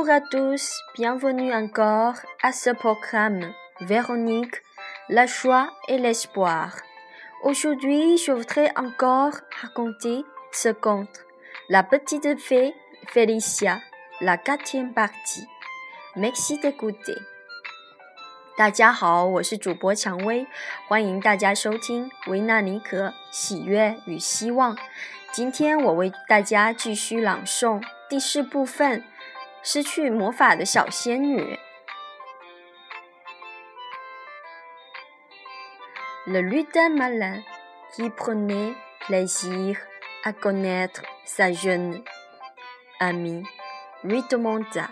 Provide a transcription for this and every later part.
Bonjour à tous, bienvenue encore à ce programme Véronique, la joie et l'espoir. Aujourd'hui, je voudrais encore raconter ce conte, La petite fée Félicia, la 4e partie. Merci d'écouter. 大家好，我是主播蔷薇，欢迎大家收听维纳尼可喜悦与希望。今天我为大家继续朗诵第4部分，失去魔法的小仙女。Le lutin malin qui prenait plaisir à connaître sa jeune amie lui demanda: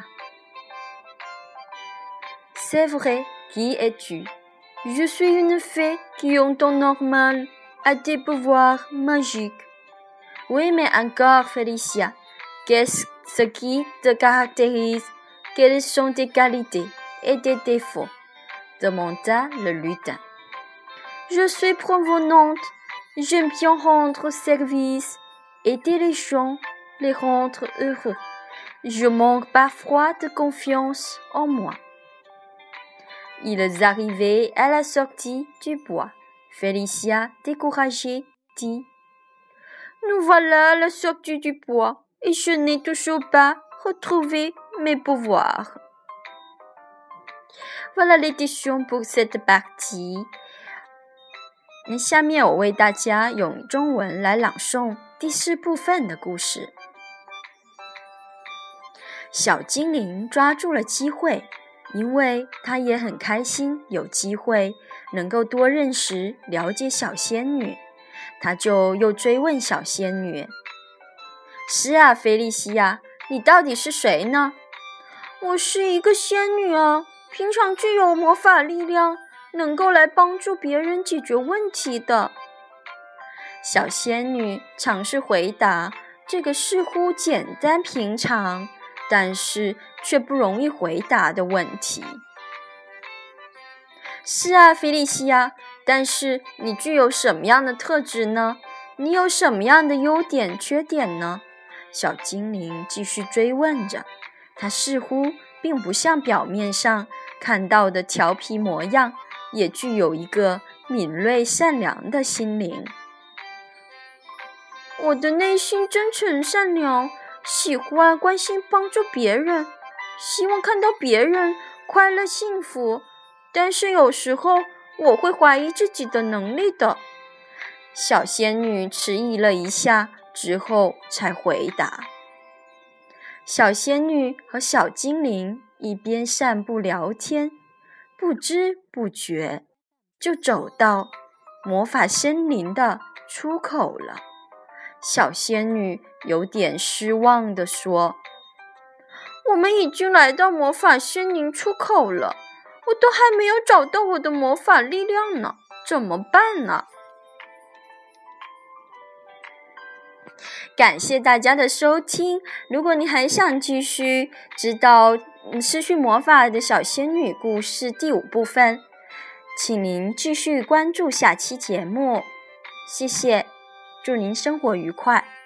C'est vrai, qui es-tu? Je suis une fée qui en temps normal a des pouvoirs magiques. Oui, mais encore, Félicia, qu'est-ce qui te caractérise? Quelles sont tes qualités et tes défauts? Demanda le lutin. Je suis provenante, j'aime bien rendre service, aider les gens, les rendre heureux. Je manque parfois de confiance en moi.Ils arrivaient à la sortie du bois. Félicia, découragée, dit: Nous voilà à la sortie du bois, et je n'ai toujours pas retrouvé mes pouvoirs. Voilà l'édition pour cette partie. 下面我为大家用中文来朗诵第4部分的故事。小精灵抓住了机会，因为他也很开心有机会能够多认识了解小仙女，他就又追问小仙女：是啊，菲利西亚，你到底是谁呢？我是一个仙女啊，平常具有魔法力量，能够来帮助别人解决问题的。小仙女尝试回答这个似乎简单平常，但是却不容易回答的问题。是啊，菲利西亚，但是你具有什么样的特质呢？你有什么样的优点、缺点呢？小精灵继续追问着，他似乎并不像表面上看到的调皮模样，也具有一个敏锐善良的心灵。我的内心真诚善良，喜欢关心帮助别人，希望看到别人快乐幸福，但是有时候我会怀疑自己的能力的。小仙女迟疑了一下之后才回答。小仙女和小精灵一边散步聊天，不知不觉就走到魔法森林的出口了。小仙女有点失望地说：我们已经来到魔法森林出口了，我都还没有找到我的魔法力量呢，怎么办呢？感谢大家的收听，如果你还想继续知道失去魔法的小仙女故事第5部分，请您继续关注下期节目。谢谢，祝您生活愉快。